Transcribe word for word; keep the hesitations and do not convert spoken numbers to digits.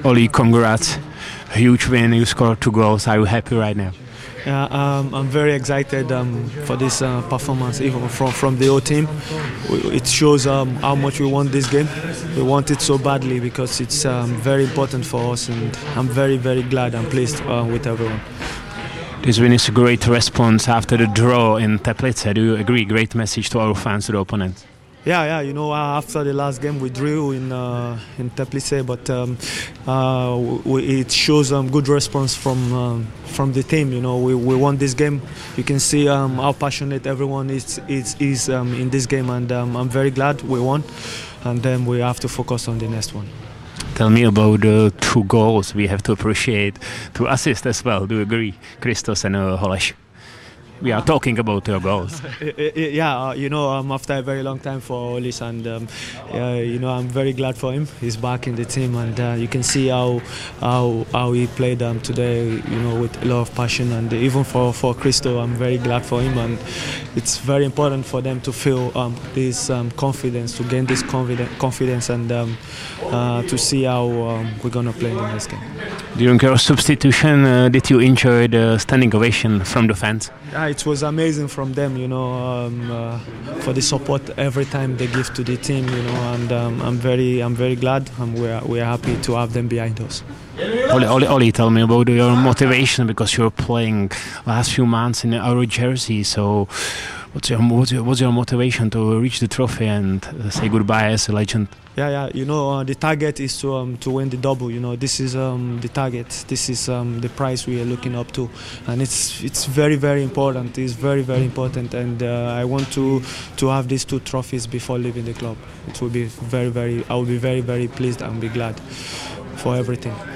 Oli, congrats. Huge win, you scored two goals. Are you happy right now? Yeah, um, I'm very excited um, for this uh, performance, even from, from the whole team. It shows um, how much we want this game. We want it so badly because it's um, very important for us, and I'm very, very glad and pleased uh, with everyone. This win is a great response after the draw in Teplice. Do you agree? Great message to our fans, to the opponents. Yeah, yeah. You know, uh, after the last game we drew in uh, in Teplice, but um, uh, we, it shows um, good response from um, from the team. You know, we, we won this game. You can see um, how passionate everyone is is, is um, in this game, and um, I'm very glad we won. And then we have to focus on the next one. Tell me about the two goals. We have to appreciate two assists as well. Do you agree, Christos and uh, Holeš? We are talking about your goals. Yeah, uh, you know, um, after a very long time for Olis, and um, uh, you know, I'm very glad for him. He's back in the team, and uh, you can see how how how he played um, today. You know, with a lot of passion, and even for for Christo, I'm very glad for him. And it's very important for them to feel um, this um, confidence, to gain this confidence, confidence, and um, uh, to see how um, we're gonna play in the next game. During your substitution, uh, did you enjoy the standing ovation from the fans? Yeah, it was amazing from them, you know, um, uh, for the support every time they give to the team, you know, and um, I'm very, I'm very glad, and we're we're happy to have them behind us. Oli, Oli, Oli, tell me about your motivation, because you're playing last few months in our jersey. So, what's your what's your, what's your motivation to reach the trophy and uh, say goodbye as a legend? Yeah, yeah. You know, uh, the target is to um, to win the double. You know, this is um, the target. This is um, the prize we are looking up to, and it's it's very very important. It's very very important, and uh, I want to to have these two trophies before leaving the club. It will be very very. I will be very very pleased and be glad for everything.